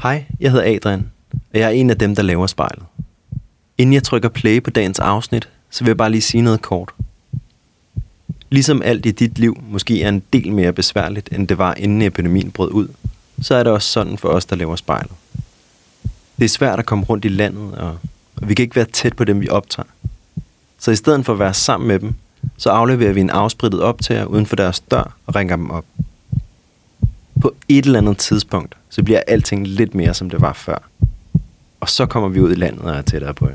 Hej, jeg hedder Adrian, og jeg er en af dem, der laver spejlet. Inden jeg trykker play på dagens afsnit, så vil jeg bare lige sige noget kort. Ligesom alt i dit liv måske er en del mere besværligt, end det var inden epidemien brød ud, så er det også sådan for os, der laver spejlet. Det er svært at komme rundt i landet, og vi kan ikke være tæt på dem, vi optager. Så i stedet for at være sammen med dem, så afleverer vi en afsprittet optager uden for deres dør og ringer dem op. På et eller andet tidspunkt, så bliver alting lidt mere, som det var før. Og så kommer vi ud i landet og er tættere på jer.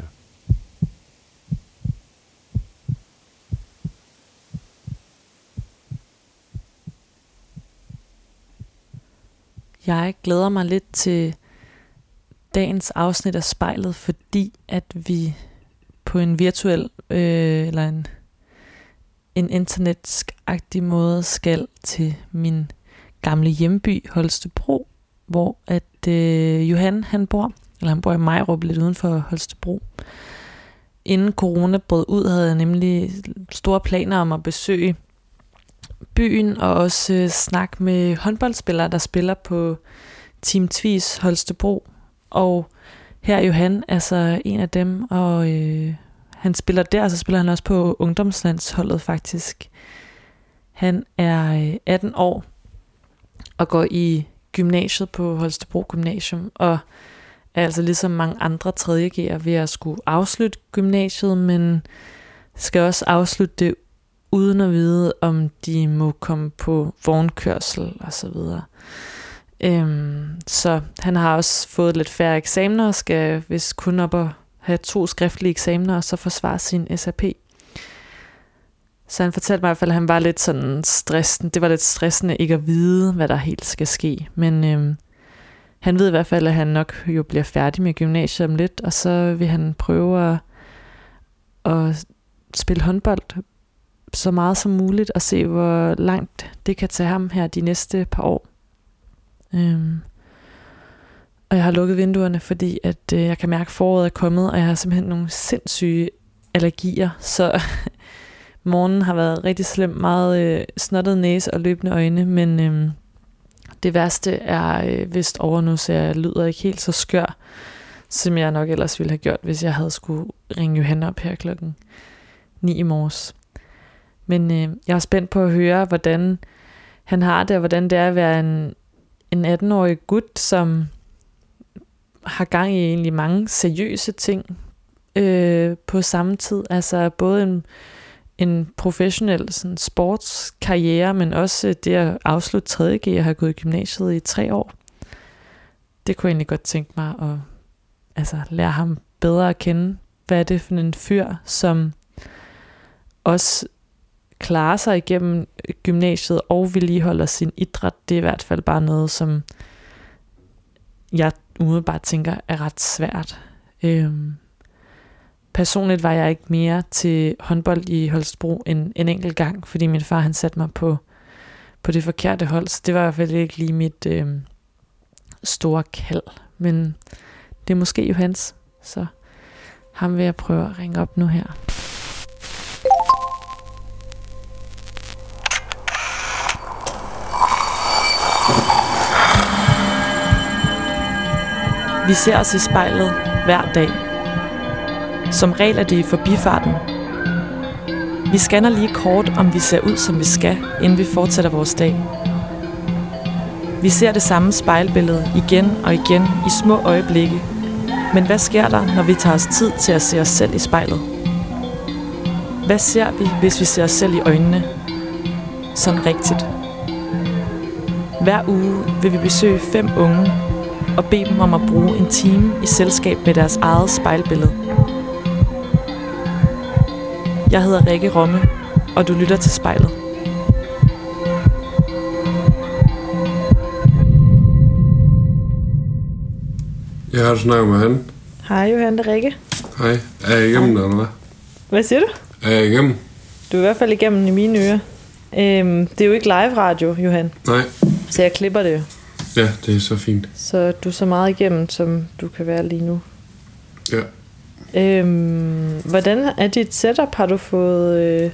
Jeg glæder mig lidt til dagens afsnit af spejlet, fordi at vi på en virtuel eller en internetsk-agtig måde skal til min gamle hjemby Holstebro, hvor at Johan han bor i Majrup, lidt uden for Holstebro. Inden corona brød ud, havde jeg nemlig store planer om at besøge byen og også snakke med håndboldspillere, der spiller på Team Tvis Holstebro. Og her er Johan altså en af dem, og han spiller der, og så spiller han også på ungdomslandsholdet faktisk. Han er 18 år og går i gymnasiet på Holstebro Gymnasium, og er altså ligesom mange andre 3.G'ere ved at skulle afslutte gymnasiet, men skal også afslutte det uden at vide, om de må komme på vognkørsel og så videre. Så han har også fået lidt færre eksamener og skal vist kun op og have 2 skriftlige eksamener og så forsvare sin SAP. Så han fortalte mig i hvert fald, at han var lidt sådan stressende. Det var lidt stressende ikke at vide, hvad der helt skal ske. Men han ved i hvert fald, at han nok jo bliver færdig med gymnasiet om lidt, og så vil han prøve at spille håndbold så meget som muligt og se, hvor langt det kan tage ham her de næste par år. Og jeg har lukket vinduerne, fordi at jeg kan mærke, at foråret er kommet, og jeg har simpelthen nogle sindssyge allergier, så morgenen har været rigtig slem, meget snottet næse og løbende øjne, men det værste er vist over nu, så jeg lyder ikke helt så skør, som jeg nok ellers ville have gjort, hvis jeg havde skulle ringe Johan op her klokken 9 i morges. Men jeg er spændt på at høre, hvordan han har det, og hvordan det er at være en 18-årig gut, som har gang i egentlig mange seriøse ting på samme tid. Altså både en professionel sådan, sportskarriere, men også det at afslutte 3.G og have gået i gymnasiet i 3 år. Det kunne jeg egentlig godt tænke mig at lære ham bedre at kende. Hvad er det for en fyr, som også klarer sig igennem gymnasiet og vedligeholder sin idræt? Det er i hvert fald bare noget, som jeg umiddelbart tænker er ret svært. Personligt var jeg ikke mere til håndbold i Holstebro en enkelt gang, fordi min far han satte mig på det forkerte hold, så det var i hvert fald ikke lige mit store kald. Men det er måske Johans, så ham vil jeg prøve at ringe op nu her. Vi ser os i spejlet hver dag. Som regel er det i forbifarten. Vi scanner lige kort, om vi ser ud, som vi skal, inden vi fortsætter vores dag. Vi ser det samme spejlbillede igen og igen i små øjeblikke. Men hvad sker der, når vi tager os tid til at se os selv i spejlet? Hvad ser vi, hvis vi ser os selv i øjnene? Sådan rigtigt. Hver uge vil vi besøge 5 unge og bede dem om at bruge en time i selskab med deres eget spejlbillede. Jeg hedder Rikke Romme, og du lytter til Spejlet. Jeg har snakket med han. Hej Johan, det er Rikke. Hej. Er jeg igennem, eller hvad? Hvad siger du? Er jeg igennem? Du er i hvert fald igennem i mine ører. Det er jo ikke live radio, Johan. Nej. Så jeg klipper det jo. Ja, det er så fint. Så du er så meget igennem, som du kan være lige nu. Ja. Hvordan er dit setup? Har du fået...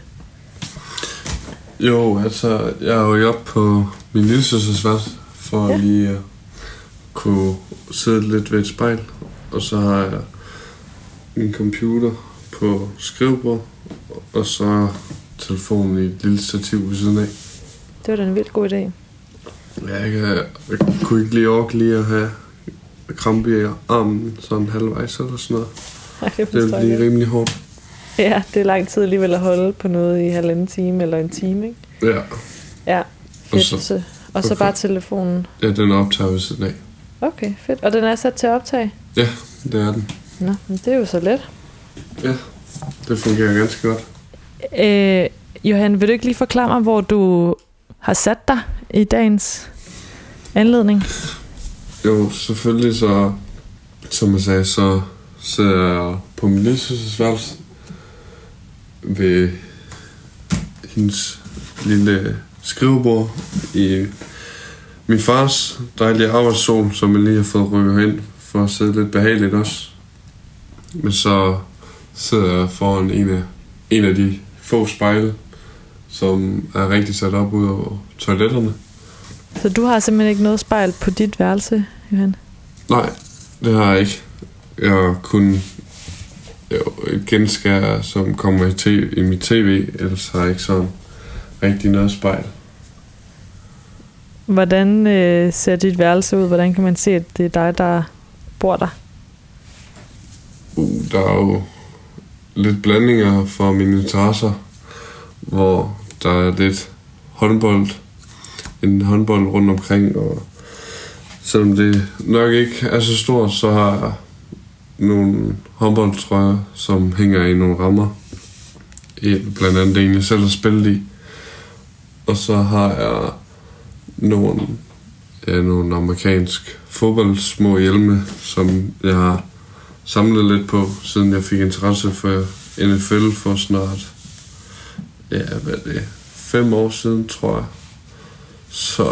Jo, altså, jeg er jo oppe på min lillesøsters værelse for lige at kunne sidde lidt ved et spejl, og så har jeg min computer på skrivebord, og så telefonen i et lille stativ ved siden af. Det var da en vildt god idé. Jeg kunne ikke lige orke lige at have krampe i armen sådan halvvejs eller sådan noget. Ej, det ville blive rimelig hårdt. Ja, det er lang tid alligevel at holde på noget i 1,5 time eller en time, ikke? Ja. Ja, fedt. Og så bare telefonen. Ja, den optager ved siden af. Okay, fedt. Og den er sat til at optage? Ja, det er den. Nå, men det er jo så let. Ja, det fungerer ganske godt. Johan, vil du ikke lige forklare mig, hvor du har sat dig i dagens anledning? Jo, selvfølgelig så, som jeg sagde, så sidder jeg på min lillesøsters ved hendes lille skrivebord i min fars dejlige arbejdsstol, som jeg lige har fået rykket ind for at sidde lidt behageligt også. Men så sidder jeg foran en af de få spejle, som er rigtig sat op ud over toiletterne. Så du har simpelthen ikke noget spejl på dit værelse, Johan? Nej, det har jeg ikke. Jeg har kun et genskær, som kommer i mit tv, ellers har jeg ikke sådan rigtig noget spejl. Hvordan ser dit værelse ud? Hvordan kan man se, at det er dig, der bor der? Der er jo lidt blandinger for mine interesser, hvor der er lidt en håndbold rundt omkring, og selvom det nok ikke er så stort, så har jeg nogle håndboldtrøjer, som hænger i nogle rammer. Blandt andet det, jeg selv har spillet i. Og så har jeg nogle amerikansk fodboldsmå hjelme, som jeg har samlet lidt på, siden jeg fik interesse for NFL for snart 5 år siden, tror jeg. Så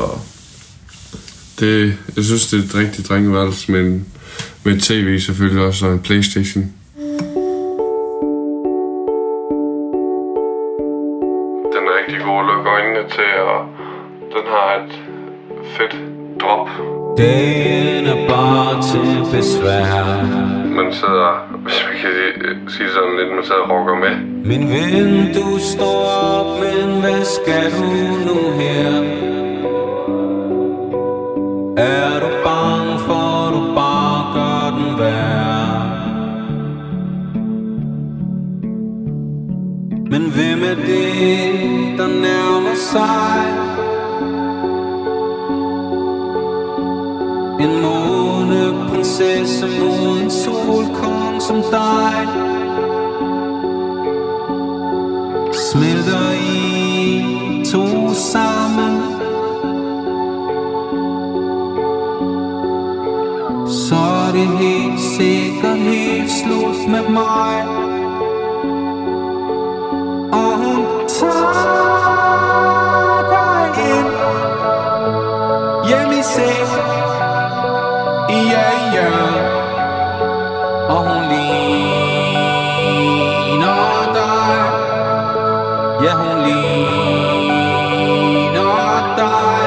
jeg synes, det er et rigtigt drengeværelse, men med tv selvfølgelig også, og en PlayStation. Den er rigtig god at lukke øjnene til, og den har et fedt drop. Den er bare til besvær. Man sidder, hvis man kan sige sådan lidt, man sidder og rocker med. Min ven, du står op, men hvad skal du nu her? Er du bange for, du bare gør den værre? Men hvem er det, der nærmer sig? En måneprinsesse mod en solkong som dig. Smelter I to sammen, så er det helt sikkert helt slut med mig. Og hun tager dig ind hjem i seng. Ja, ja. Og hun ligner dig. Ja, hun ligner dig.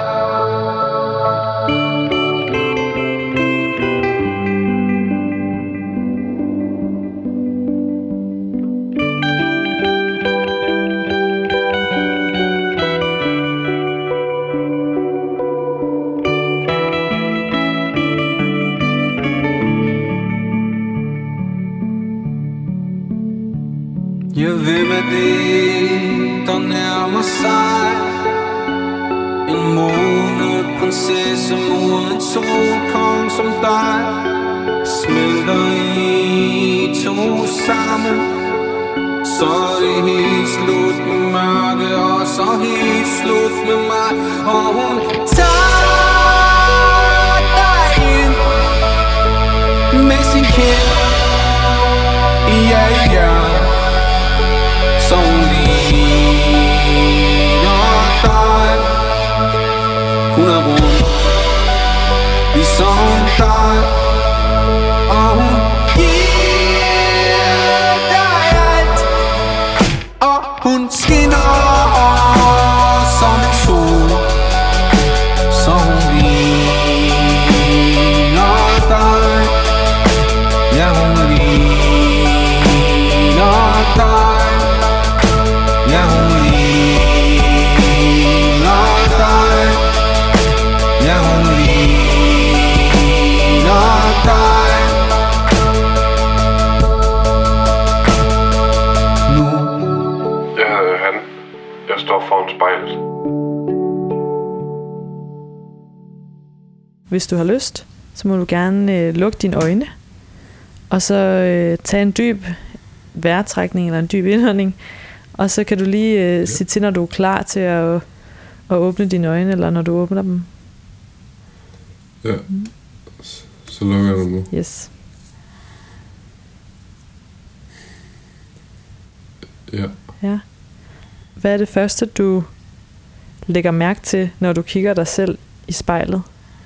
Ja, hvem er det, der nærmer sig? En måneprinsesse mod en solkong som dig. Smelter I to sammen, så er det helt slut med mørke, og så helt slut med mig. Og hun tager dig ind med sin kind. Ja, ja. Så hun ligner dig. Hun er rund ligesom dig. Og hun giver dig alt. Og hun skinner som en sol. Så hun ligner hvordan jeg står foran spejlet. Hvis du har lyst, så må du gerne lukke dine øjne, og så tage en dyb vejrtrækning eller en dyb indånding, og så kan du lige sige til, når du er klar til at åbne dine øjne, eller når du åbner dem. Ja, så lukker jeg dem nu. Yes. Ja. Ja. Hvad er det første, du lægger mærke til, når du kigger dig selv i spejlet?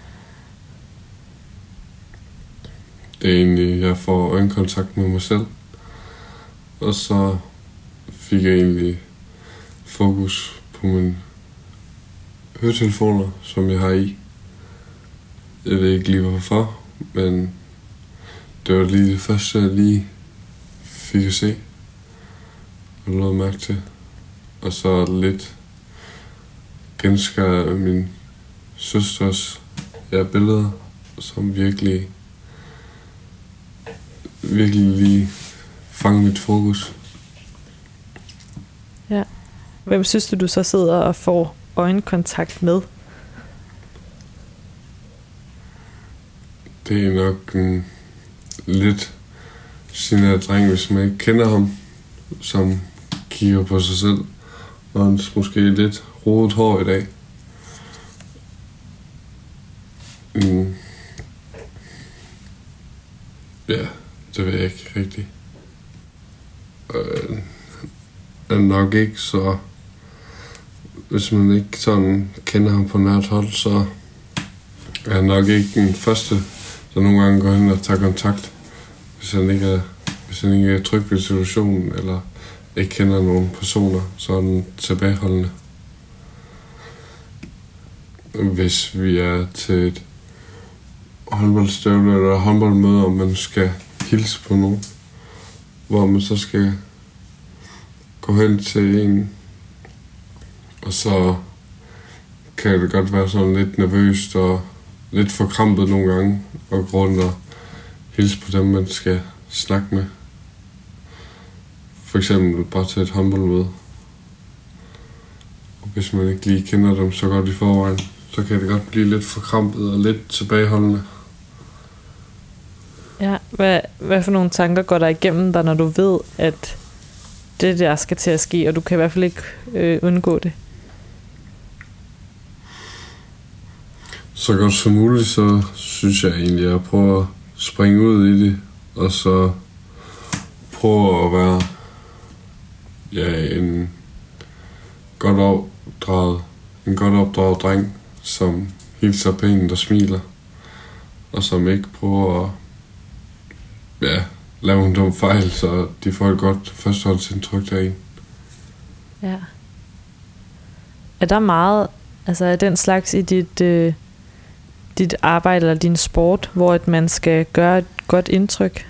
Det er egentlig, jeg får øjenkontakt med mig selv. Og så fik jeg egentlig fokus på mine høretelefoner, som jeg har i. Jeg ved ikke lige hvorfor, men det var lige det første, jeg lige fik at se og lod mærke til. Og så lidt genskar min søsters billeder, som virkelig lige fange mit fokus. Ja. Hvem synes du så sidder og får øjenkontakt med? Det er nok en lidt genert dreng, hvis man ikke kender ham, som kigger på sig selv. Og han måske lidt rodet hår i dag. Ja, det ved jeg ikke rigtigt. Er nok ikke så... Hvis man ikke sådan kender ham på nært hold, så er han nok ikke den første, der nogle gange går hen og tager kontakt. Hvis han ikke er tryg ved situationen, eller ikke kender nogen personer, så er han tilbageholdende. Hvis vi er til et håndboldstøvle eller håndboldmøde, og man skal hilse på nogen, hvor man så skal gå hen til en, og så kan det godt være sådan lidt nervøst og lidt forkrampet nogle gange, og gå rundt og hilse på dem, man skal snakke med. For eksempel bare til et håndboldmøde. Og hvis man ikke lige kender dem så godt i forvejen, så kan det godt blive lidt forkrampet og lidt tilbageholdende. Ja, hvad for nogle tanker går der igennem dig, når du ved, at det der skal til at ske, og du kan i hvert fald ikke undgå det? Så godt som muligt, så synes jeg egentlig, at jeg prøver at springe ud i det, og så prøve at være en godt opdraget dreng, som hilser pænt og smiler, og som ikke prøver at lave en dum fejl, så de får et godt førsteholdsindtryk af en. Ja. Er der meget, altså er den slags i dit arbejde eller din sport, hvor at man skal gøre et godt indtryk?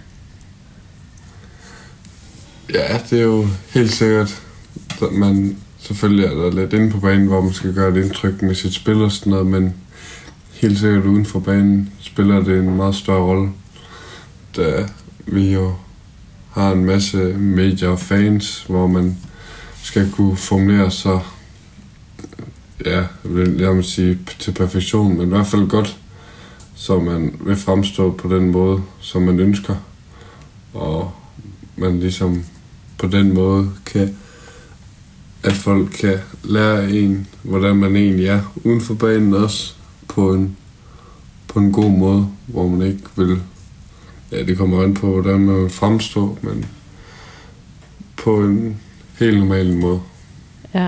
Ja, det er jo helt sikkert. Man selvfølgelig er der lidt inde på banen, hvor man skal gøre et indtryk med sit spil og sådan noget, men helt sikkert uden for banen spiller det en meget større rolle, da vi jo har en masse medier og fans, hvor man skal kunne formulere sig, jeg vil sige til perfektion, men i hvert fald godt, så man vil fremstå på den måde, som man ønsker, og man ligesom på den måde kan, at folk kan lære en, hvordan man egentlig er uden for banen også, på en god måde, hvor man ikke vil, det kommer an på, hvordan man vil fremstå, men på en helt normal måde. Ja.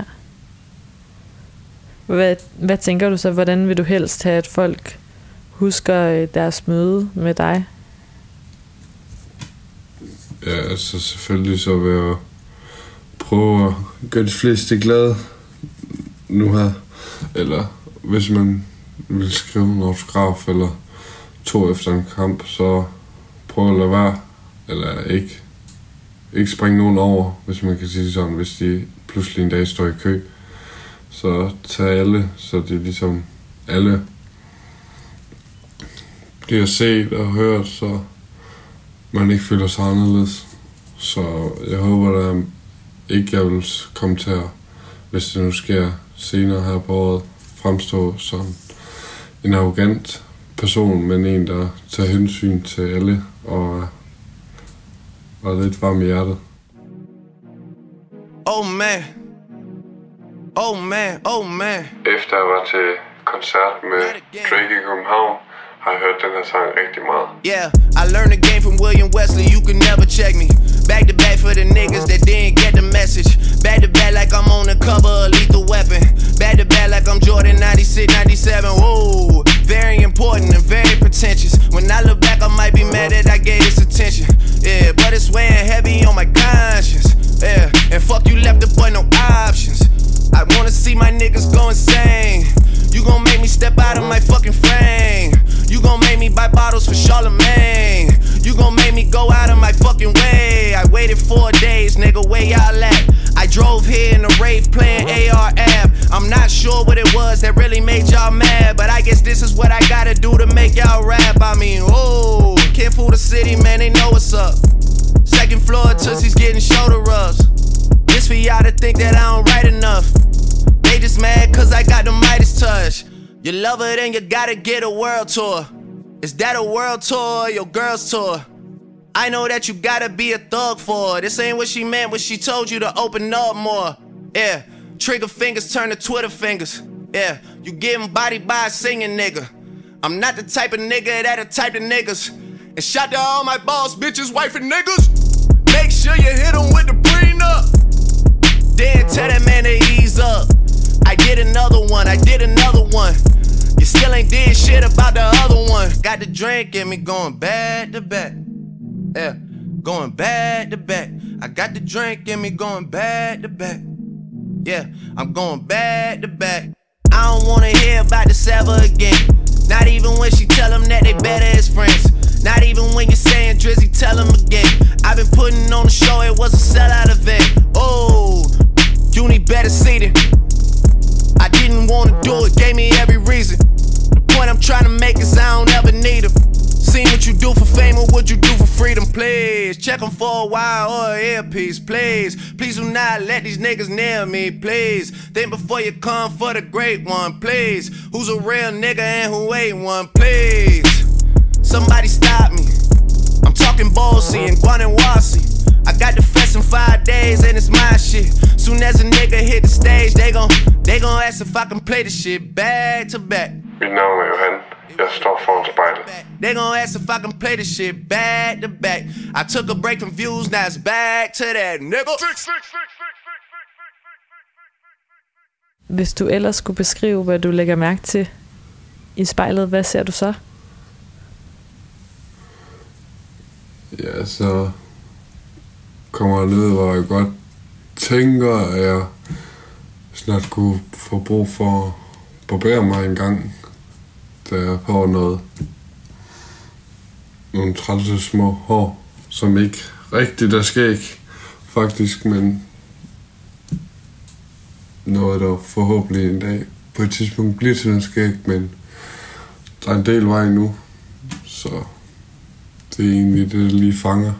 Hvad tænker du så, hvordan vil du helst have, at folk husker deres møde med dig? Ja, altså selvfølgelig så vil jeg prøve at gøre de fleste glade nu her. Eller hvis man vil skrive en autograf eller 2 efter en kamp, så prøv at lade være. Eller ikke springe nogen over, hvis man kan sige sådan, hvis de pludselig en dag står i kø. Så tag alle, så det er ligesom alle bliver set og hørt, så man ikke føler sig anderledes. Så jeg håber, ikke jeg vil komme til at, hvis det nu sker senere her på året, fremstå som en arrogant person, men en, der tager hensyn til alle og lidt varm i hjertet. Oh man. Oh man, oh man. Efter jeg var til koncert med Drake i København, har jeg hørt den her sang rigtig meget. Yeah, I learned the game from William Wesley, you can never check me. Back to back for the niggas that didn't get the message. Back to back like I'm on the cover of Lethal Weapon. Back to back like I'm Jordan 96, 97. Whoa, very important and very pretentious. When I look back, I might be mad that I gave this attention. Yeah, but it's weighing heavy on my conscience. Yeah, and fuck you left the boy no options. I wanna see my niggas go insane. You gon' make me step out of my fucking frame. You gon' make me buy bottles for Charlemagne. You gon' make me go out of my fucking way. I waited 4 days, nigga, where y'all at? I drove here in a rave playing AR-AB. I'm not sure what it was that really made y'all mad, but I guess this is what I gotta do to make y'all rap. I mean, oh, can't fool the city, man, they know what's up. Second floor, Tootsie's getting shoulder rubs. This for y'all to think that I don't write enough. They just mad cause I got the Midas touch. You love her, then you gotta get a world tour. Is that a world tour or your girl's tour? I know that you gotta be a thug for her. This ain't what she meant when she told you to open up more. Yeah, trigger fingers turn to Twitter fingers. Yeah, you getting bodied by a singing nigga. I'm not the type of nigga that'll type of niggas. And shout to all my boss bitches, wife and niggas. Make sure you hit them with the prenup. Then tell that man to ease up. I did another one. You still ain't did shit about the other one. Got the drink in me going back to back. Yeah, going back to back. I got the drink in me going back to back. Yeah, I'm going back to back. I don't wanna hear about the Sava again. Not even when she tell them that they better as friends. Not even when you're saying Drizzy, tell them again. I've been putting on the show, it was a sellout event. Oh, you need better seating. I didn't wanna do it, gave me every reason. The point I'm trying to make is I don't ever need them. Seen what you do for fame or what you do for freedom, please. Check them for a while or an earpiece, please. Please do not let these niggas near me, please. Think before you come for the great one, please. Who's a real nigga and who ain't one, please. Somebody stop me. I'm talking Ballsy and Guanawasi. I got the fest in 5 days and it's my shit. Soon as a nigga hit the stage, they gon' ask if I can play the shit back to back. Mit navn er Johan. Jeg står foran spejlet. They gon' ask if I can play the shit back to back. I took a break from views, now it's back to that, nigga. Hvis du ellers skulle beskrive, hvad du lægger mærke til i spejlet, hvad ser du så? Ja, så kommer jeg ned, hvor jeg godt tænker, at jeg snart kunne få brug for at barbere mig en gang, da jeg får nogle trælse små hår, som ikke rigtigt er skæg, faktisk, men noget, der forhåbentlig en dag på et tidspunkt bliver til en skæg, men der er en del vej nu, så det er egentlig det, der lige fanger.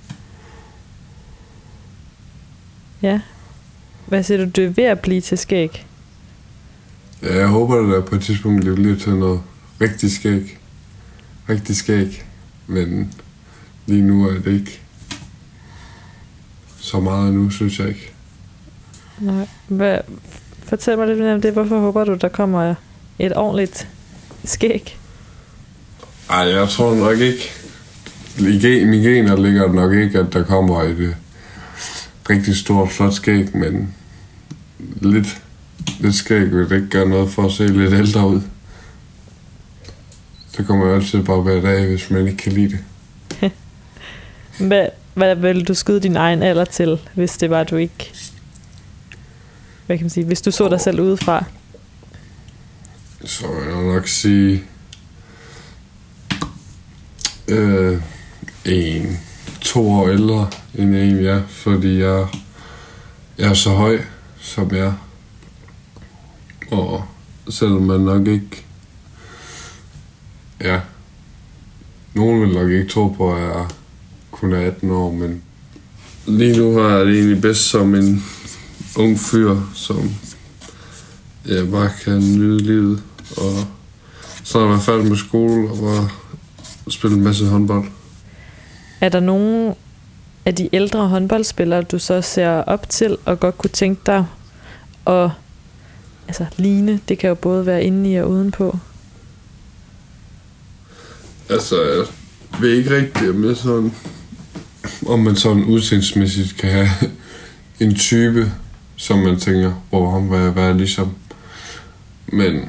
Ja. Hvad siger du, du er ved at blive til skæg? Ja, jeg håber, at der på et tidspunkt bliver til noget rigtig skæg. Rigtig skæg. Men lige nu er det ikke så meget nu, synes jeg ikke. Nej. Fortæl mig lidt mere om det. Hvorfor håber du, der kommer et ordentligt skæg? Ej, jeg tror nok ikke. I mine gener ligger det nok ikke, at der kommer et rigtig stort, flot skæg, men lidt skæg vil det ikke gøre noget for at se lidt ældre ud. Så kommer jeg altid bare hver dag, hvis man ikke kan lide det. Hvad vil du skyde din egen alder til, hvis det var, du ikke... Hvad kan man sige? Hvis du så dig selv udefra? Så vil jeg nok sige... 2 år ældre end jeg egentlig er, fordi jeg er så høj, som jeg er. Og selvom man nok ikke... Ja, nogen vil nok ikke tro på, at jeg kun er 18 år, men Lige nu har jeg det egentlig bedst som en ung fyr, som bare kan nyde livet. Og så har jeg været færdig med skole og bare spillet en masse håndbold. Er der nogen af de ældre håndboldspillere, du så ser op til og godt kunne tænke dig at ligne? Det kan jo både være inde i og udenpå. Altså, jeg ved ikke rigtigt, om man sådan udseendsmæssigt kan have en type, som man tænker, hvor ham vil jeg være ligesom. Men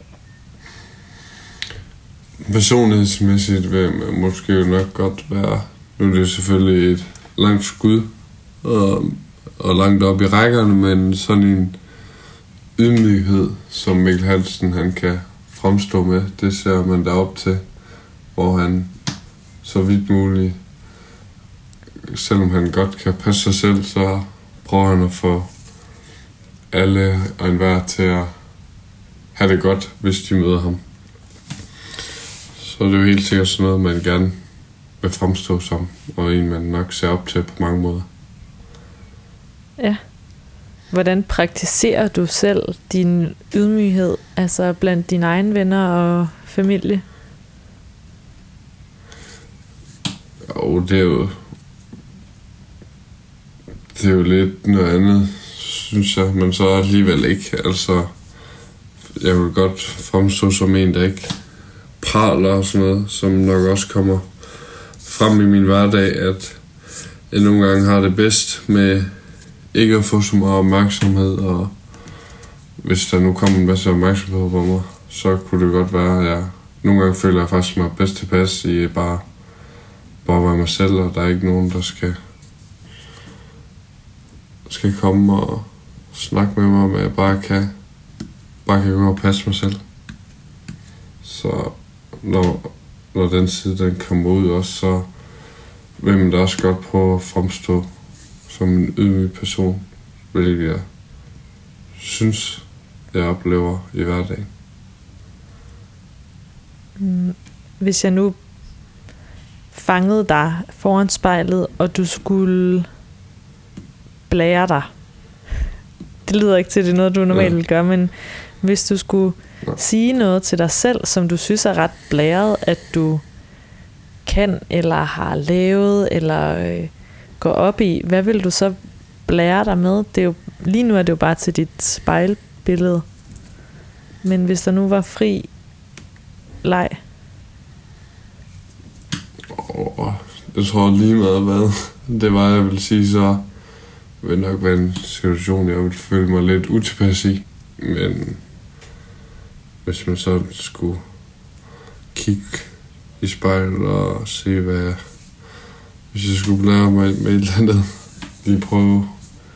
personlighedsmæssigt vil man måske jo nok godt være. Nu er det selvfølgelig et langt skud og langt op i rækkerne, men sådan en ydmyghed, som Mikkel Hansen han kan fremstå med, det ser man derop til, hvor han så vidt muligt, selvom han godt kan passe sig selv, så prøver han at få alle og enhver til at have det godt, hvis de møder ham. Så er det jo helt sikkert sådan noget, man gerne vil fremstå som, og en man nok ser op til på mange måder. Ja. Hvordan praktiserer du selv din ydmyghed, altså blandt dine egne venner og familie? Jo, det er jo lidt noget andet, synes jeg, men så alligevel ikke. Altså, jeg vil godt fremstå som en, der ikke praler og sådan noget, som nok også kommer frem i min hverdag, at jeg nogle gange har det bedst med ikke at få så meget opmærksomhed, og hvis der nu kommer en masse opmærksomhed på mig, så kunne det godt være, at jeg nogle gange føler jeg faktisk mig bedst tilpas i bare være mig selv, og der er ikke nogen, der skal komme og snakke med mig, men jeg bare kan gå og passe mig selv. Så når den side den kommer ud også, så vil man da også godt prøve at fremstå som en ydmyg person, hvilket jeg synes, jeg oplever i hverdagen. Hvis jeg nu fangede dig foran spejlet, og du skulle blære dig. Det lyder ikke til, det er noget, du normalt vil gøre, men hvis du skulle sige noget til dig selv, som du synes er ret blæret, at du kan, eller har lavet, eller går op i, hvad vil du så blære dig med? Det er jo, lige nu er det jo bare til dit spejlbillede. Men hvis der nu var fri leg? Jeg tror lige meget hvad det var, jeg vil sige, så vil nok være en situation, jeg vil føle mig lidt utilpas i. Men hvis man så skulle kigge i spejlet og se, hvis jeg skulle blære mig med et eller andet, lige prøve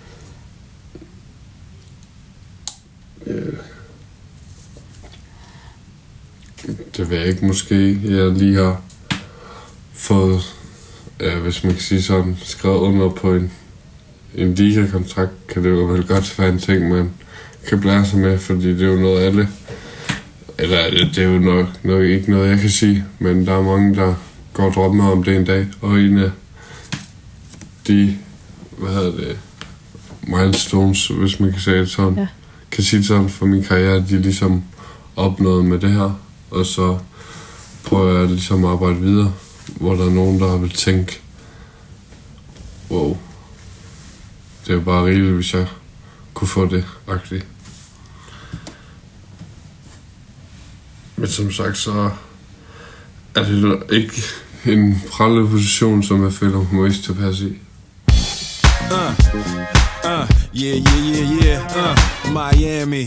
det vil jeg ikke måske. Jeg lige har fået, hvis man kan sige sådan, skrevet under på en ligakontrakt, kan det jo vel godt være en ting, man kan blære sig med, fordi det er jo noget alle, eller det er jo nok ikke noget, jeg kan sige, men der er mange, der går og drømmer om det en dag, og en af de, milestones, hvis man kan sige det sådan, kan sige det sådan for min karriere, de ligesom opnået med det her, og så prøver jeg ligesom at arbejde videre, hvor der er nogen, der vil tænke, wow, det er jo bare rigeligt, hvis jeg kunne få det agtigt. Men som sagt, så er det ikke en prallende position, som jeg føler mig mest tilpas i. Miami,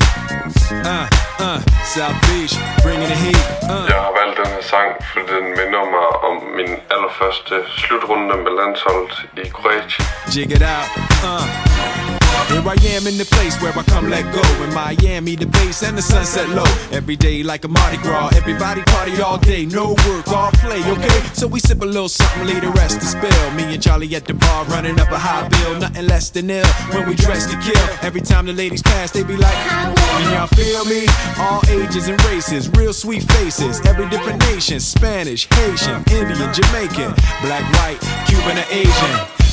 South Beach, bringing the heat. Jeg har valgt den her sang, fordi den minder mig om min allerførste slutrunde med landsholdet i Kroatien. Jig it out, Here I am in the place where I come let go. In Miami, the bass and the sunset low. Every day like a Mardi Gras. Everybody party all day, no work, all play, okay? So we sip a little something, leave the rest to spill. Me and Charlie at the bar running up a high bill. Nothing less than ill when we dress to kill. Every time the ladies pass, they be like, can y'all feel me? All ages and races, real sweet faces. Every different nation, Spanish, Haitian, Indian, Jamaican, black, white, Cuban or Asian.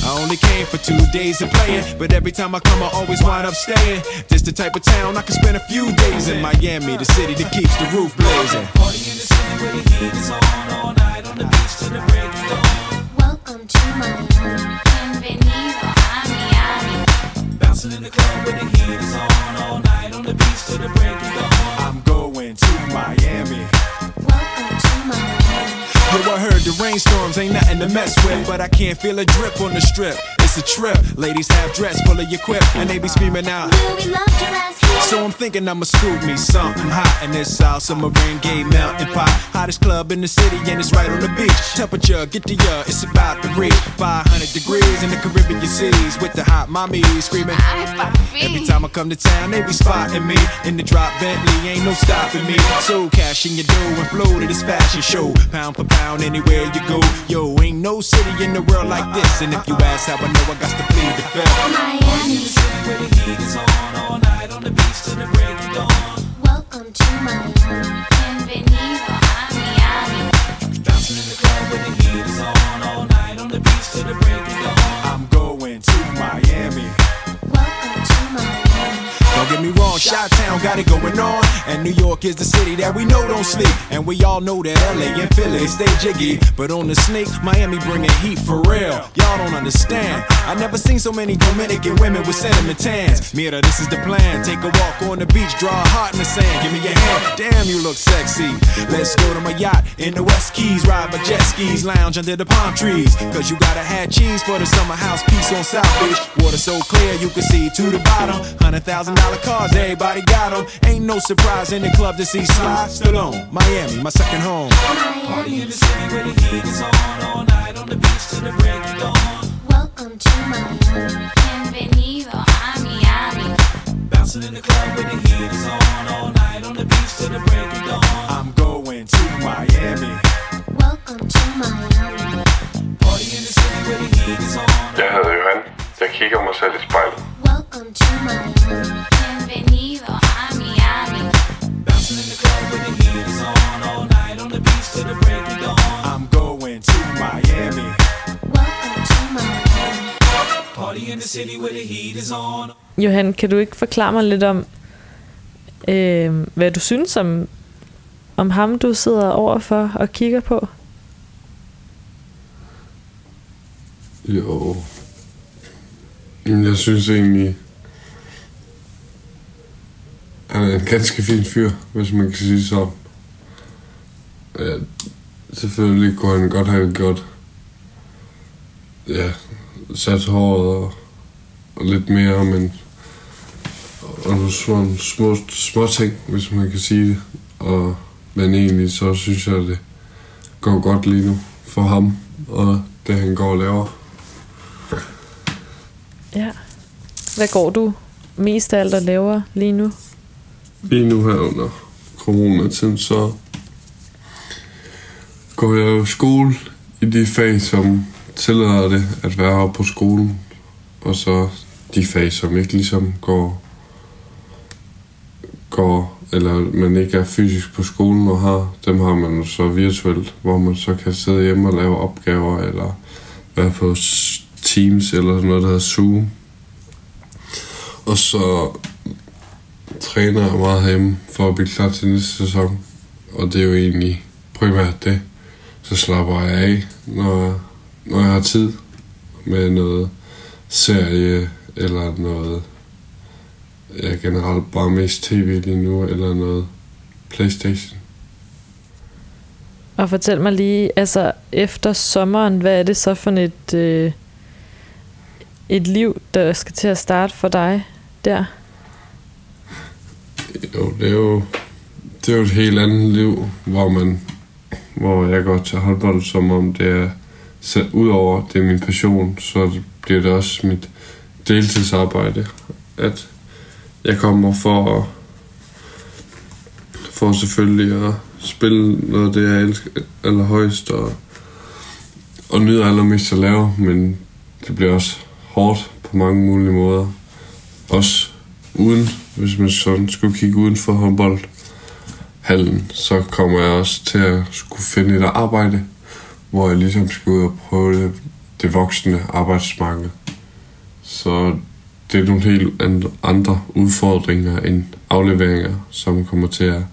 I only came for 2 days of playing, but every time I come I always wind up staying. This the type of town I can spend a few days in. Miami, the city that keeps the roof blazing. Party in the city where the heat is on, all night on the beach till the break of dawn. Welcome to Miami. Bienvenido a Miami. Bouncing in the club where the heat is on, all night on the beach till the break of dawn. I'm going to Miami. Welcome to Miami. Yo, I heard the rainstorms ain't nothing to mess with, but I can't feel a drip on the strip. It's a trip. Ladies half dressed, full of your quip, and they be screaming out, Will we love your ass here? so I'm thinking I'ma scoop me something hot in this South Summer rain gay mountain pot. Hottest club in the city and it's right on the beach. Temperature, get to ya, it's about to reach 500 degrees in the Caribbean seas with the hot mommies screaming. Ay, papi. Every time I come to town, they be spotting me in the drop Bentley, ain't no stopping me. So cash in your dough and flow to this fashion show. Pound for pound, anywhere you go. Yo, ain't no city in the world like this. And if you ask how I know, I got to plead the fifth. Miami. Where the heat is on, all night on the beach till the break of dawn. Welcome to Miami. Bienvenido a Miami. Bouncing in the club where the heat is on, all night on the beach till the break of dawn. I'm going to Miami. Welcome to Miami. Don't get me wrong, Chi-Town got it going on. And New York is the city that we know don't sleep. And we all know that LA and Philly stay jiggy. But on the sneak, Miami bringing heat for real. Y'all don't understand. I never seen so many Dominican women with sentiment tans. Mira, this is the plan. Take a walk on the beach, draw a heart in the sand. Give me your hand, damn you look sexy. Let's go to my yacht in the West Keys. Ride my jet skis, lounge under the palm trees. Cause you gotta have cheese for the summer house piece on South Beach. Water so clear you can see to the bottom. $100,000 cars, everybody got them. Ain't no surprise in the club to see Sly Stallone. Miami, my second home. Party in the city where the heat is on, all night on the beach till the break of dawn. Welcome to Miami. Bienvenido a Miami. Bouncing in the club where the heat is on, all night on the beach till the break of dawn. I'm going to Miami. Welcome to Miami. Party in the city where the heat is on. Jeg hedder Johan. Jeg kigger mig selv i spejlet. Welcome to Miami. Bienvenido a Miami. Bouncing in the club where the heat is on, all night on the beach till the break of dawn. I'm going to Miami. Welcome to Miami. Party in the city where the heat is on. Johan, kan du ikke forklare mig lidt om, hvad du synes om ham, du sidder overfor og kigger på? Jo. Jeg synes egentlig, han er en ganske fin fyr, hvis man kan sige sådan. Ja, selvfølgelig kunne han godt have gjort, ja, sat håret og lidt mere, men og nogle små ting, hvis man kan sige det. Men egentlig så synes jeg, at det går godt lige nu for ham, og det han går og laver. Ja. Hvad går du mest af alt og laver lige nu? Lige nu her under coronatiden, så går jeg jo i skole i de fag, som tillader det at være oppe på skolen. Og så de fag, som ikke ligesom går eller man ikke er fysisk på skolen og har, dem har man så virtuelt, hvor man så kan sidde hjemme og lave opgaver, eller være på Teams, eller sådan noget, der hedder Zoom. Og så træner jeg meget hjemme for at blive klar til næste sæson. Og det er jo egentlig primært det. Så slapper jeg af, når jeg har tid med noget serie, eller noget, ja, generelt bare mest tv lige nu, eller noget PlayStation. Og fortæl mig lige, altså efter sommeren, hvad er det så for et liv, der skal til at starte for dig der? Jo, det er jo et helt andet liv, hvor jeg går til håndbold, som om det er, så udover det er min passion, så bliver det også mit deltidsarbejde, at jeg kommer for selvfølgelig at spille noget af det, jeg elsker allerhøjst, og nyder allermest at lave, men det bliver også hårdt på mange mulige måder. Også uden, hvis man sådan skulle kigge uden for håndboldhallen, så kommer jeg også til at skulle finde et arbejde, hvor jeg ligesom skal ud og prøve det voksne arbejdsmarked. Så det er nogle helt andre udfordringer end afleveringer, som kommer til at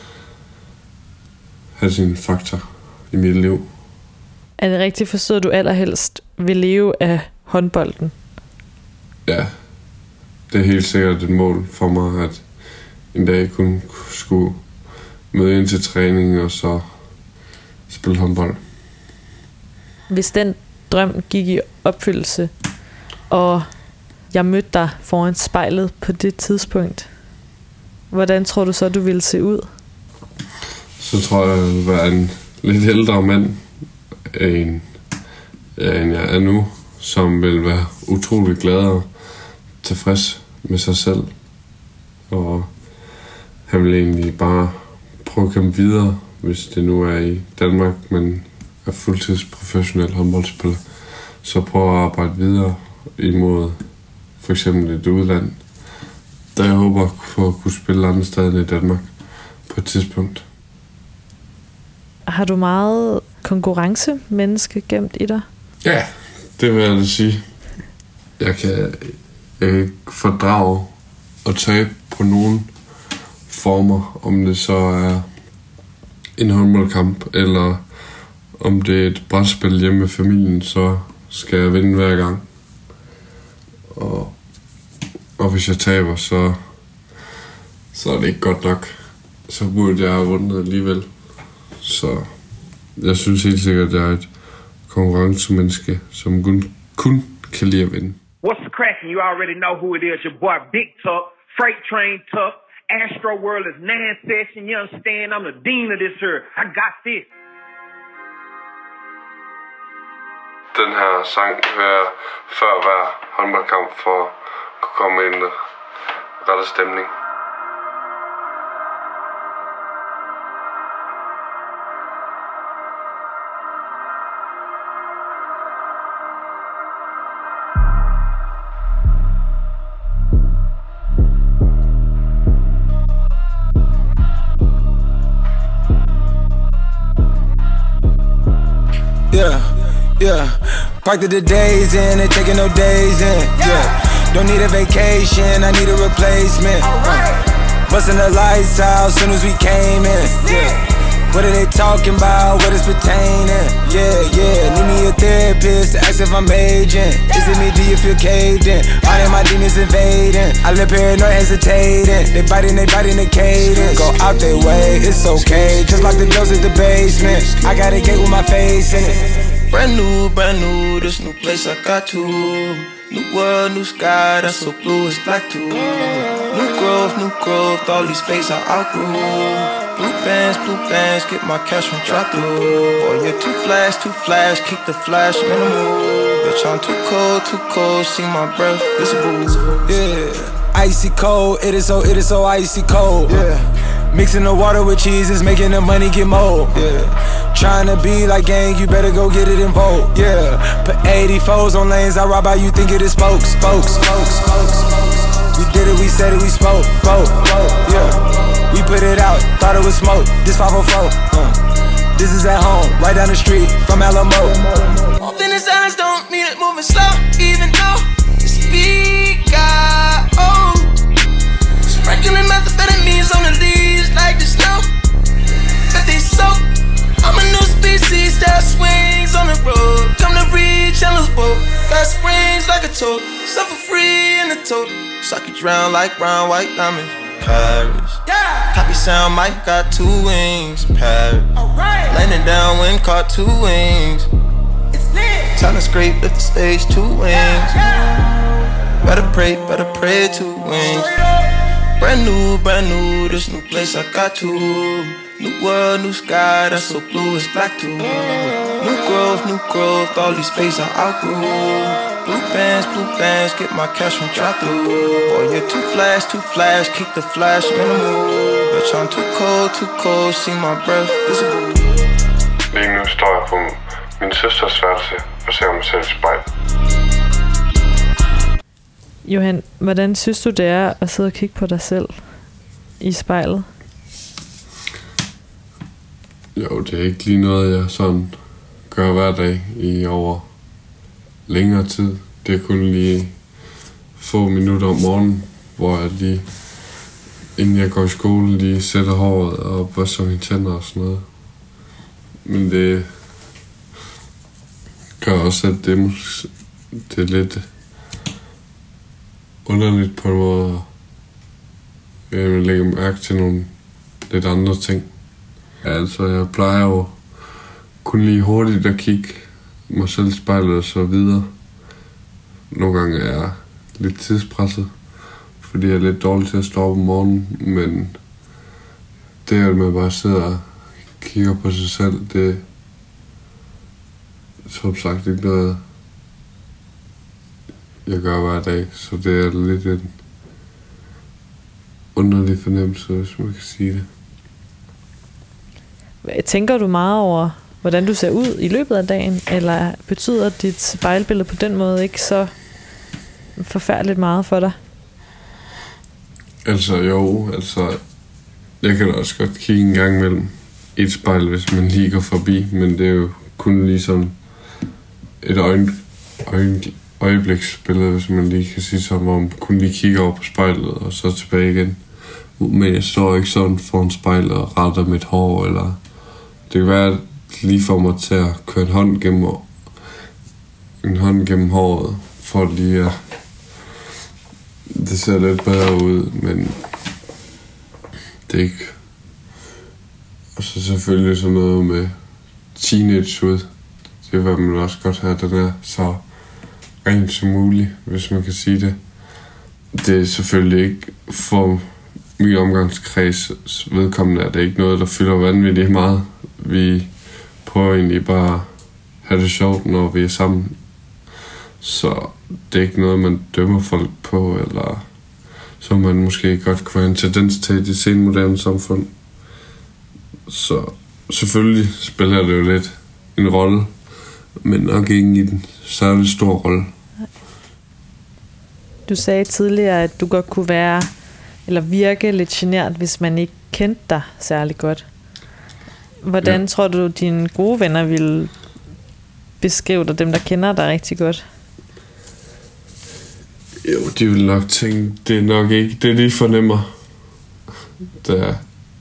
have sin faktor i mit liv. Er det rigtigt forstået, at du allerhelst vil leve af håndbolden? Ja, det er helt sikkert et mål for mig, at en dag kun skulle møde ind til træning og så spille håndbold. Hvis den drøm gik i opfyldelse, og jeg mødte dig foran spejlet på det tidspunkt, hvordan tror du så, du ville se ud? Så tror jeg, at jeg vil være en lidt ældre mand, end jeg er nu, som vil være utrolig glad og tilfreds med sig selv. Og han vil egentlig bare prøve at komme videre, hvis det nu er i Danmark, men er fuldtidsprofessionel håndboldspiller. Så prøve at arbejde videre imod for eksempel et udland, der jeg håber på at kunne spille andre steder end i Danmark på et tidspunkt. Har du meget konkurrencemenneske gemt i dig? Ja, det vil jeg da sige. Jeg kan ikke fordrage at tabe på nogen former, om det så er en håndboldkamp, eller om det er et brætspil hjemme med familien, så skal jeg vinde hver gang. Og hvis jeg taber, så er det ikke godt nok. Så burde jeg have vundet alligevel. Så jeg synes helt sikkert, at jeg er et konkurrencemenneske, som kun kan lide at vinde. What's the cracking? You already know who it is. Your boy Big Tuck, Freight Train Tuck, Astro World is 9 session. You understand? I'm the dean of this here. I got this. Den her sang hører jeg før hver håndboldkamp for at kunne komme ind i rette stemning. Yeah, parked at the days in, ain't taking no days in. Yeah, don't need a vacation, I need a replacement. Busting the lights out soon as we came in. Yeah, what are they talking about? What is pertaining? Yeah, need me a therapist to ask if I'm aging. Is it me? Do you feel caved in? All of my demons invading. I live paranoid, hesitating. They biting the cadence. Go out their way, it's okay. Just like the doors at the basement. I got a gate with my face in it. Brand new, this new place I got to. New world, new sky, that's so blue, it's black too. New growth, all these faces I outgrew. Blue bands, get my cash from drop through. Boy, you're too flash, keep the flash minimal. Bitch, I'm too cold, see my breath visible. Yeah, icy cold, it is so icy cold. Yeah, mixing the water with cheese is making the money get mold. Yeah. Trying to be like gang, you better go get it in vogue. Yeah, put 84s on lanes, I ride by you think it is spokes. We did it, we said it, we spoke. Yeah, we put it out, thought it was smoke. This 504. This is at home, right down the street from Alamo. Open his eyes, don't mean it moving slow, even though the speed got old. Sprinkling methamphetamines on the leaves like the snow that they soak. I'm a new species that swings on the road. Come to reach and lose both. Got springs like a toad. Suffer free in the toad. Suck you drown like brown, white diamonds. Paris. Yeah. Copy sound, Mike got 2 wings. Paris. Alright. Landing down, wind caught 2 wings. It's lit. Time to scrape, lift the stage, 2 wings. Yeah. Better pray, 2 wings. Brand new, this new place I got to. New world, new sky, that's so blue, it's black too. New growth, all these faces I outgrew. Blue bands, get my cash from drop through. Boy, you're too flash, keep the flash minimal. Bitch, I'm too cold, see my breath visible. Lige nu står jeg på min søsters værelse og ser mig selv i spejl. Johan, hvordan synes du det er at sidde og kigge på dig selv i spejlet? Jo, det er ikke lige noget, jeg sådan gør hver dag i over længere tid. Det er kun lige få minutter om morgenen, hvor jeg lige, inden jeg går i skole, lige sætter håret og børster mine tænder og sådan noget. Men det gør også, at det er lidt underligt på en måde. Jeg lægger mærke til nogle lidt andre ting. Altså, jeg plejer jo kun lige hurtigt at kigge mig selv i spejlet og så videre. Nogle gange er jeg lidt tidspresset, fordi jeg er lidt dårlig til at stå op om morgenen, men det, at man bare sidder og kigger på sig selv, det er som sagt ikke noget, jeg gør hver dag, så det er lidt en underlig fornemmelse, hvis man kan sige det. Tænker du meget over, hvordan du ser ud i løbet af dagen, eller betyder dit spejlbillede på den måde ikke så forfærdeligt meget for dig? Altså jeg kan da også godt kigge en gang imellem i et spejl, hvis man lige går forbi, men det er jo kun ligesom et øjebliksbillede, hvis man lige kan sige sådan, hvor man kun lige kigger over på spejlet og så tilbage igen. Men jeg står ikke sådan foran spejlet og retter mit hår, eller det kan være lige for mig til at køre en hånd gennem håret, for lige at det ser lidt bedre ud, men det er ikke. Og så selvfølgelig sådan noget med teenage ud. Det vil man også godt have, den er så rent som muligt, hvis man kan sige det. Det er selvfølgelig ikke for min omgangskreds vedkommende, at det ikke noget, der fylder vanvittigt meget. Vi prøver egentlig bare at have det sjovt, når vi er sammen. Så det er ikke noget, man dømmer folk på, eller som man måske godt kunne have en tendens til i det senmoderne samfund. Så selvfølgelig spiller det jo lidt en rolle, men nok ikke i en særlig stor rolle. Du sagde tidligere, at du godt kunne være eller virke lidt genert, hvis man ikke kendte dig særlig godt. Hvordan tror du, dine gode venner ville beskrive dig, dem der kender dig rigtig godt? Jo, de vil nok tænke, det er nok ikke det, de fornemmer. Der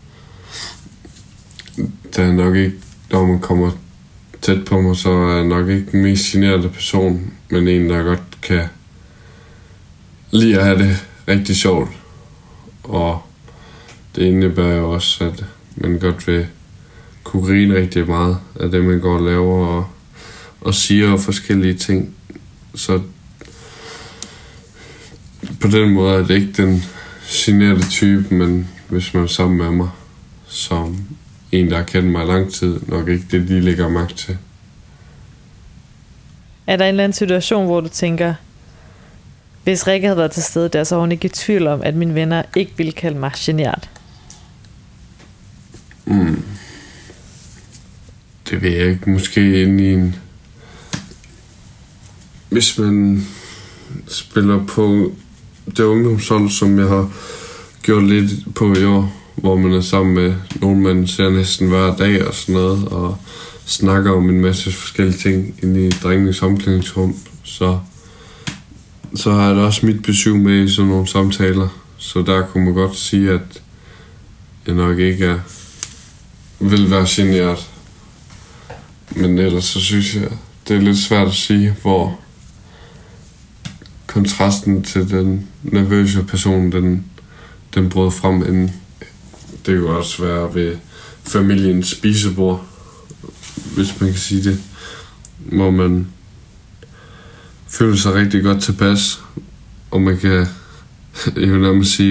er nok ikke, når man kommer tæt på mig, så er jeg nok ikke den mest generede person, men en, der godt kan lide at have det rigtig sjovt. Og det indebærer jo også, at man godt vil kunne grine rigtig meget af det, man går og laver og siger forskellige ting. Så på den måde er det ikke den generede type, men hvis man er sammen med mig, som en, der har kendt mig i lang tid, nok ikke det, de lægger mærke til. Er der en eller anden situation, hvor du tænker, hvis Rikke havde været til stede der, så var hun ikke i tvivl om, at mine venner ikke ville kalde mig genert? Det ved jeg ikke. Måske inde i en... Hvis man spiller på det ungdomshold, som jeg har gjort lidt på i år, hvor man er sammen med nogen, man ser næsten hver dag og sådan noget, og snakker om en masse forskellige ting inde i drengenes omklædningsrum, så har jeg da også mit besøg med i sådan nogle samtaler. Så der kunne man godt sige, at jeg nok ikke vil være generet. Men ellers så synes jeg, det er lidt svært at sige, hvor kontrasten til den nervøse person, den brød frem inden. Det kan også være ved familiens spisebord, hvis man kan sige det, hvor man føler sig rigtig godt tilpas, og man kan jo nærmest sige,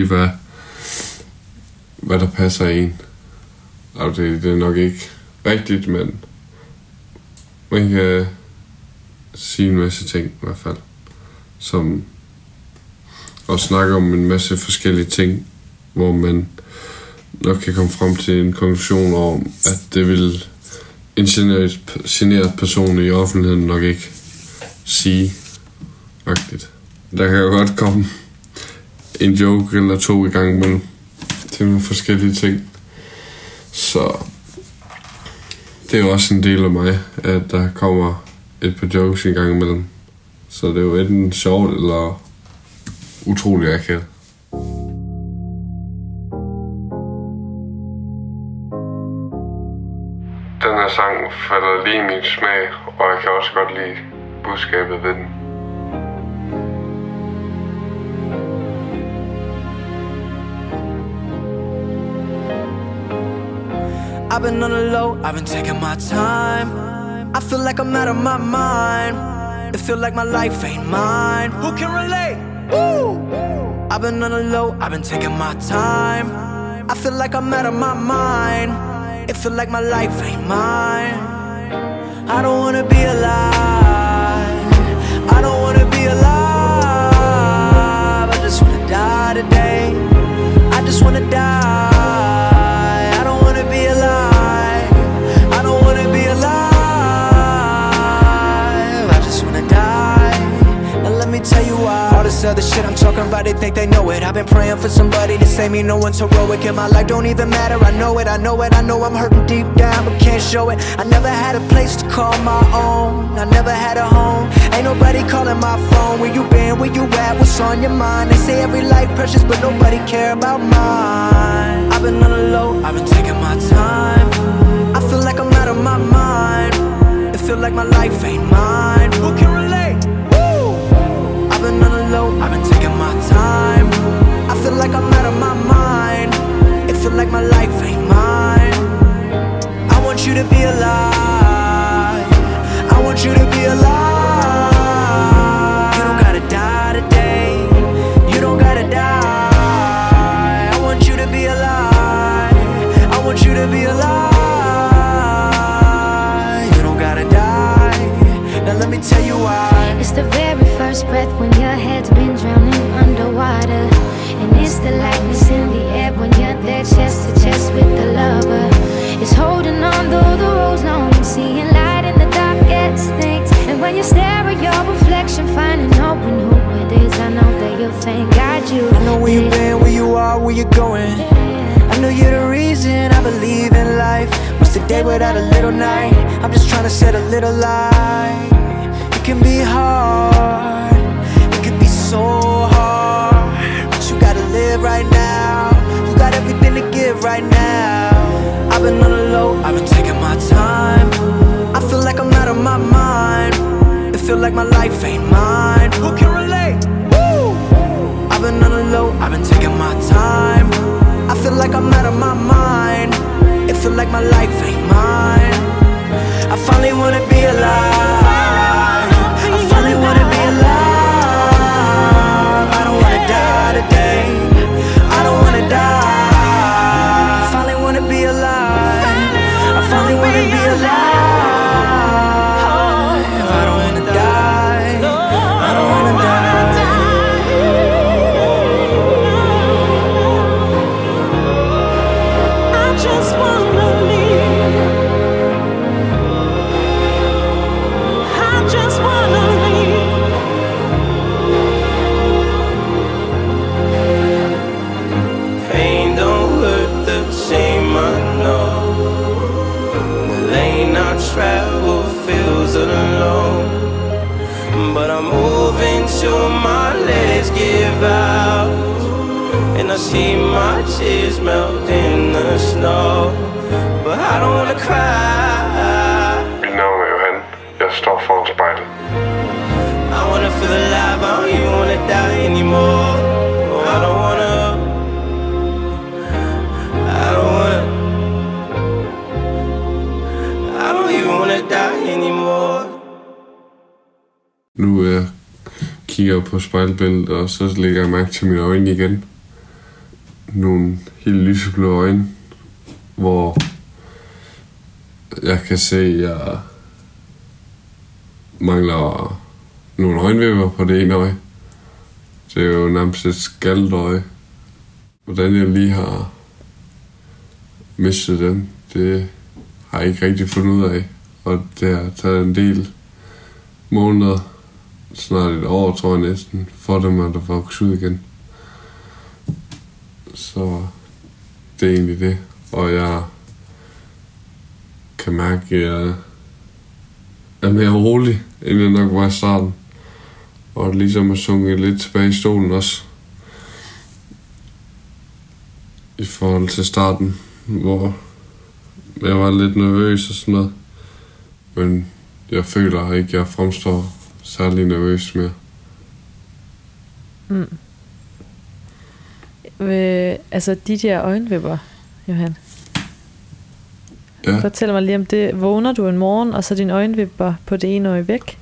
hvad der passer en. Og det er nok ikke rigtigt, men man kan sige en masse ting i hvert fald, som og snakke om en masse forskellige ting, hvor man nok kan komme frem til en konklusion om, at det vil en generet person i offentligheden nok ikke sige rigtigt. Der kan jo godt komme en joke eller to i gang imellem til nogle forskellige ting. Så det er jo også en del af mig, at der kommer et par jokes i gang imellem. Så det er jo enten sjovt eller utrolig akavet. Den her sang falder lige i min smag, og jeg kan også godt lide budskabet ved den. I've been on the low, I've been taking my time. I feel like I'm out of my mind. It feel like my life ain't mine. Who can relate? Woo! I've been on the low, I've been taking my time. I feel like I'm out of my mind. It feel like my life ain't mine. I don't wanna be alive. I don't wanna be alive. I just wanna die today. I just wanna die. I don't wanna be alive. I don't wanna be alive. I just wanna die. Now let me tell you why. All this other shit I'm talking about, they think they know it. I've been praying for somebody to save me. No one's heroic in my life, don't even matter. I know it, I know it, I know I'm hurting deep down, but can't show it. I never had a place to call my own. I never had a home. Ain't nobody calling my phone. Where you been, where you at, what's on your mind? They say every life precious, but nobody care about mine. I've been on the low, I've been taking my time. I feel like I'm out of my mind. It feel like my life ain't mine. Who can relate? Woo! I've been on the low, I've been taking my time. I feel like I'm out of my mind. It feel like my life ain't mine. I want you to be alive. I want you to be alive. You don't gotta die today. You don't gotta die. I want you to be alive. I want you to be alive. You don't gotta die. Now let me tell you why. It's the very first breath when your head's been drowning underwater. And it's the lightness in the air when you're there chest to chest with the lover. It's holding on though the road's long and seeing light in the darkest things. And when you stare at your reflection, finding hope in who it is, I know that your fame guide you. I know where you've been, where you are, where you're going. I know you're the reason I believe in life. What's the day without a little night? I'm just trying to set a little light. It can be hard, it can be so hard, but you gotta live right now. You got everything to give right now. I've been on the low, I've been taking my time. I feel like I'm out of my mind. It feel like my life ain't mine. Who can relate? Woo! I've been on the low, I've been taking my time. I feel like I'm out of my mind. It feel like my life ain't mine. I finally wanna be alive. I finally wanna be alive. I don't wanna die today. I don't wanna die. I finally wanna be alive. I finally wanna be alive. I don't wanna die. I don't wanna die. I just wanna leave. I just wanna leave. Pain don't hurt the same, I know. The lane I travel feels alone, but I'm moving till my legs give out, and I see my tears melt in the snow, but I don't wanna cry. Mit navn er Johan. Jeg står foran spejlet. I wanna feel alive, I don't even wanna die anymore. I don't wanna, I don't wanna, I don't even wanna die anymore. Nu kigger jeg på spejlbilledet, og så lægger jeg mærke til mine øjne igen. Nogle helt lyseblå øjne, hvor jeg kan se, at jeg mangler nogle øjenvipper på det ene øje. Det er jo nærmest et skaldet øje. Hvordan jeg lige har mistet dem, det har jeg ikke rigtig fundet ud af. Og det har taget en del måneder, snart et år tror jeg næsten, for dem at vokse ud igen. Så det er egentlig det. Og jeg kan mærke, at jeg er mere rolig, end jeg nok var i starten. Og ligesom at sunket lidt tilbage i stolen også. I forhold til starten, hvor jeg var lidt nervøs og sådan noget. Men jeg føler ikke, at jeg fremstår særlig nervøs mere. Altså de der øjenvipper, Johan. Ja. Fortæl mig lige om det. Vågner du en morgen, og så dine øjenvipper på det ene øje væk?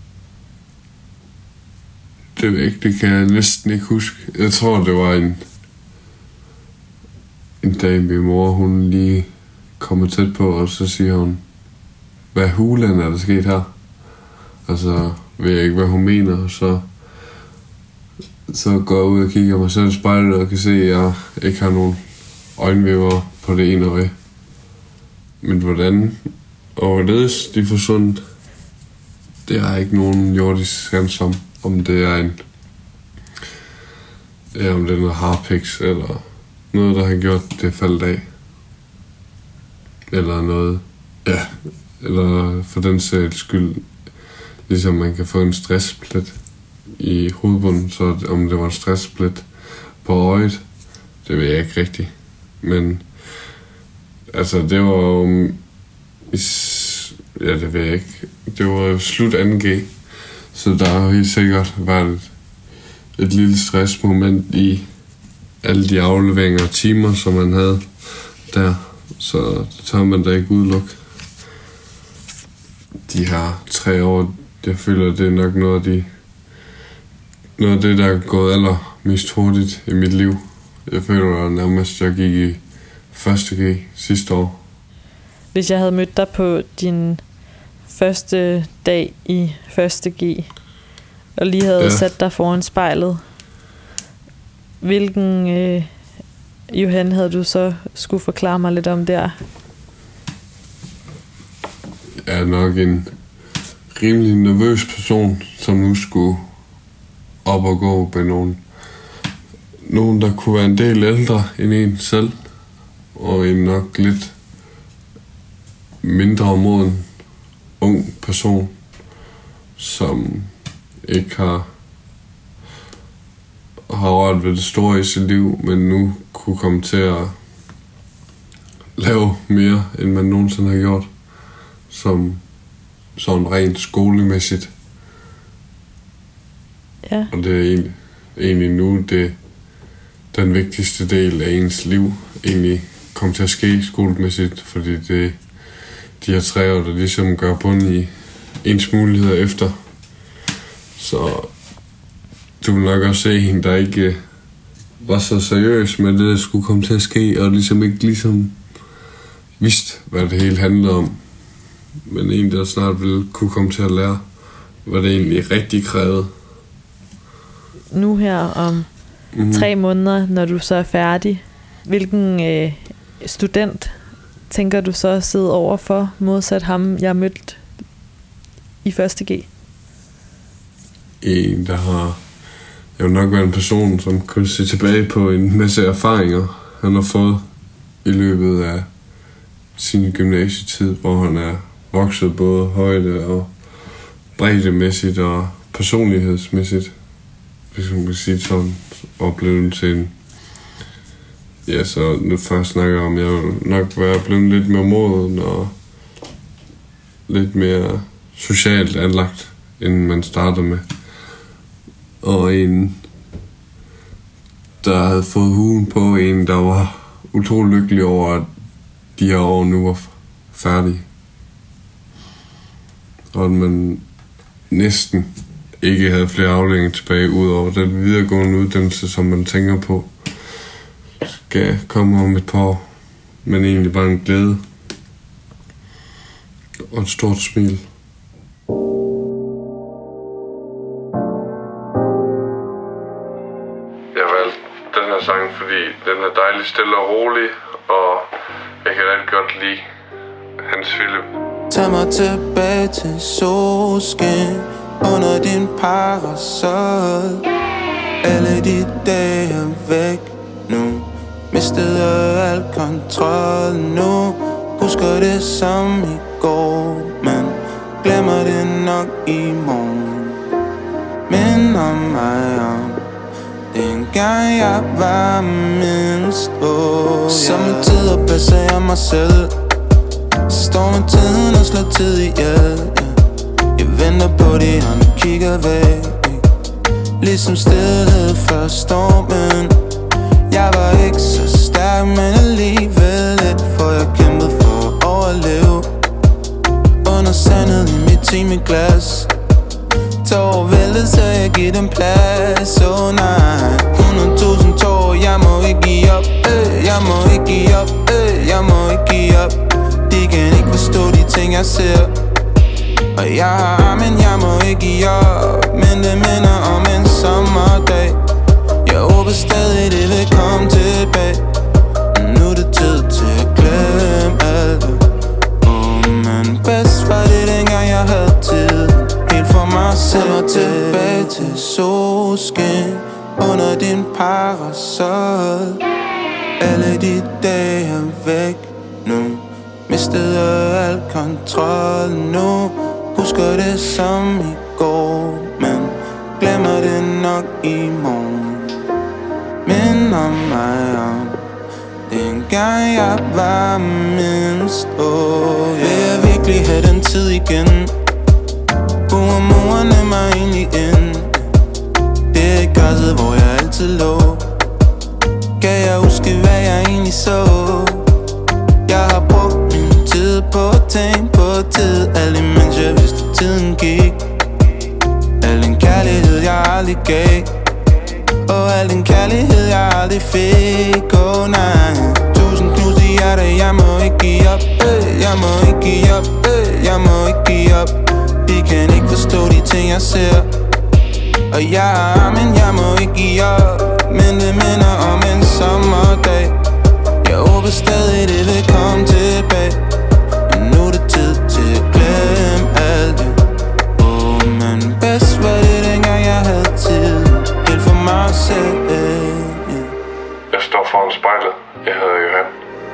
Det ved jeg ikke, det kan jeg næsten ikke huske. Jeg tror, det var en dag, min mor, hun lige kommer tæt på, og så siger hun, hvad hulen er der sket her? Og så ved jeg ikke, hvad hun mener, og så går jeg ud og kigger mig selv i spejlet, og kan se, at jeg ikke har nogen øjenvipper på det ene øje. Men hvordan og hvorledes de er forsvundet, det har ikke nogen jordisk sans om det er om det er noget harpiks, eller noget, der har gjort det faldet af. Eller noget, ja, eller for den sags skyld, ligesom man kan få en stressplet i hovedbunden, så om det var en stressplet på øjet, det ved jeg ikke rigtigt. Men altså, det var jo, ja, det ved jeg ikke. Det var jo slut 2G, så der har helt sikkert været et lille stressmoment i alle de afleveringer og timer, som man havde der. Så det tager man da ikke udelukke. De her 3 år, jeg føler, det er nok noget af det, der er gået allermest hurtigt i mit liv. Jeg føler nærmest, at jeg gik i 1.G sidste år. Hvis jeg havde mødt dig på din første dag i 1.G, og lige havde sat dig foran spejlet, hvilken Johan havde du så skulle forklare mig lidt om der? Jeg er nok en rimelig nervøs person, som nu skulle op og gå med nogen, der kunne være en del ældre end en selv, og en nok lidt mindre moden ung person, som ikke har rørt ved det store i sit liv, men nu kunne komme til at lave mere, end man nogensinde har gjort, som sådan rent skolemæssigt. Ja. Og det er egentlig nu den vigtigste del af ens liv egentlig kom til at ske skolemæssigt, fordi det de her 3 år, der ligesom gør bund i ens muligheder efter. Så du vil nok også se en, der ikke var så seriøs med det, der skulle komme til at ske, og ligesom ikke vidste, hvad det hele handlede om. Men en, der snart ville kunne komme til at lære, hvad det egentlig rigtig krævede. Nu her om 3 måneder, når du så er færdig, hvilken student tænker du så at sidde over for, modsat ham, jeg mødte i 1.G? En, der har jo nok været en person, som kunne se tilbage på en masse erfaringer, han har fået i løbet af sin gymnasietid, hvor han er vokset både højde og breddemæssigt og personlighedsmæssigt, hvis man kan sige sådan, og blevet til en. Ja, så nu først snakker jeg om, jeg vil nok være blevet lidt mere moden og lidt mere socialt anlagt, end man startede med. Og en, der havde fået huen på, en, der var utrolig lykkelig over, at de her år nu var færdige. Og at man næsten ikke havde flere afdelinger tilbage, ud over den videregående uddannelse, som man tænker på skal komme om et par år, men egentlig bare en glæde og et stort smil. Jeg valgte den her sang, fordi den er dejlig stille og rolig, og jeg kan rigtig godt lide Hans Philip. Tag mig tilbage til solskin under din parasol. Alle de dage er væk nu. Mistede al kontrol nu. Husker det som i går, men glemmer det nok i morgen. Men minder mig om dengang jeg var mindst. Sommetider passer jeg mig selv. Står med tiden og slår tid ihjel. Jeg venter på de andre kigger væk. Ligesom stillhed før stormen. Jeg var ikke så stærk, men alligevel lidt. For jeg kæmpede for at overleve. Under sandet i mit timeglas. Tår væltet, så jeg giver dem plads. Nej, 100.000 tår. Jeg må ikke give op, jeg må ikke give op, jeg må ikke give op. De kan ikke forstå de ting jeg ser. Og jeg har armen, jeg må ikke give op. Men det minder om en sommerdag. Jeg håber stadig det vil komme tilbage. Nu er det tid til at glemme alt. Men bedst var det dengang jeg havde tid. Helt for mig selv. Mig tilbage til solskin under din parasol. Alle de dage er væk nu. Mistede al kontrol nu. Husker det som i går, men glemmer det nok i morgen. Minder mig om dengang jeg var mindst. Vil jeg virkelig have den tid igen? Hvor morerne mig egentlig ind? Det er græsset, hvor jeg altid lå. Kan jeg huske, hvad jeg egentlig så? Jeg har brugt min tid på at tænke på tid. Alt imens jeg vidste, tiden gik. Al den kærlighed, jeg aldrig gav. Og al den kærlighed, jeg aldrig fik. Nej, 1000 knuste hjerter. Jeg må ikke give op, jeg må ikke give op, jeg må ikke give op. De kan ikke forstå de ting jeg ser. Og jeg har armen, jeg må ikke give op. Men det minder om en sommerdag. Jeg håber stadig det vil komme tilbage. Men nu er det tid til at glemme alt det. Men bedst var det dengang jeg havde tid. Helt for mig selv. Jeg står foran spejlet. Jeg hedder Johan.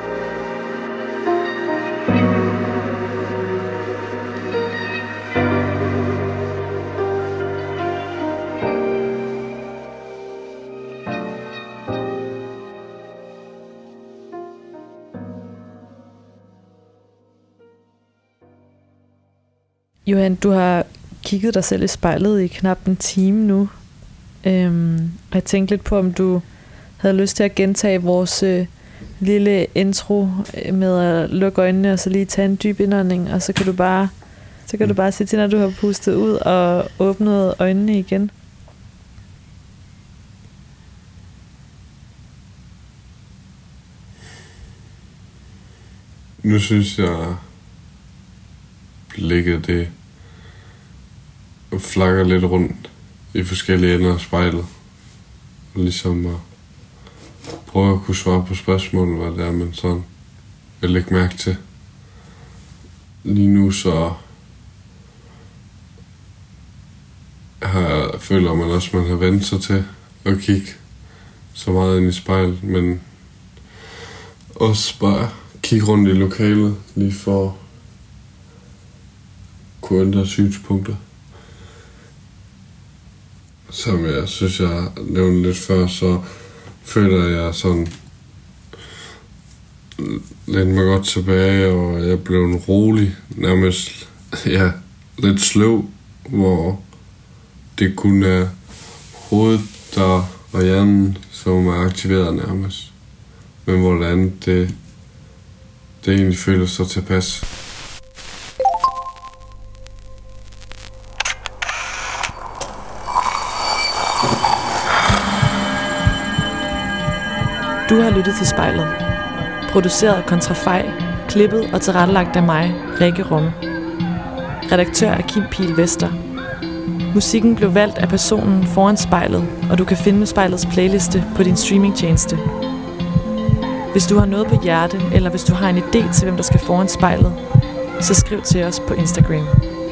Johan, du har kigget dig selv i spejlet i knap en time nu. Og jeg tænkte lidt på, om du havde lyst til at gentage vores lille intro med at lukke øjnene og så lige tage en dyb indånding, og så kan du bare sige til, når du har pustet ud og åbnet øjnene igen. Nu synes jeg blikket det flakker lidt rundt i forskellige ender af spejlet. Ligesom at prøve at kunne svare på spørgsmål, hvad det er, man sådan vil lægge mærke til. Lige nu så føler man også, at man har vendt sig til at kigge så meget ind i spejlet, men også bare kigge rundt i lokalet, lige for at kunne ændre synspunkter. Som jeg synes, jeg nævnte lidt før, så føler jeg sådan lidt mig godt tilbage, og jeg blev en rolig, nærmest lidt sløv, hvor det kun er hovedet der og hjernen, som er aktiveret nærmest. Men hvordan det egentlig føles så tilpas. Du har lyttet til Spejlet. Produceret af Kontrafej, klippet og tilrettelagt af mig, Rikke Rumme. Redaktør er Kim Pihl Vester. Musikken blev valgt af personen foran spejlet, og du kan finde spejlets playliste på din streamingtjeneste. Hvis du har noget på hjerte, eller hvis du har en idé til, hvem der skal foran spejlet, så skriv til os på Instagram.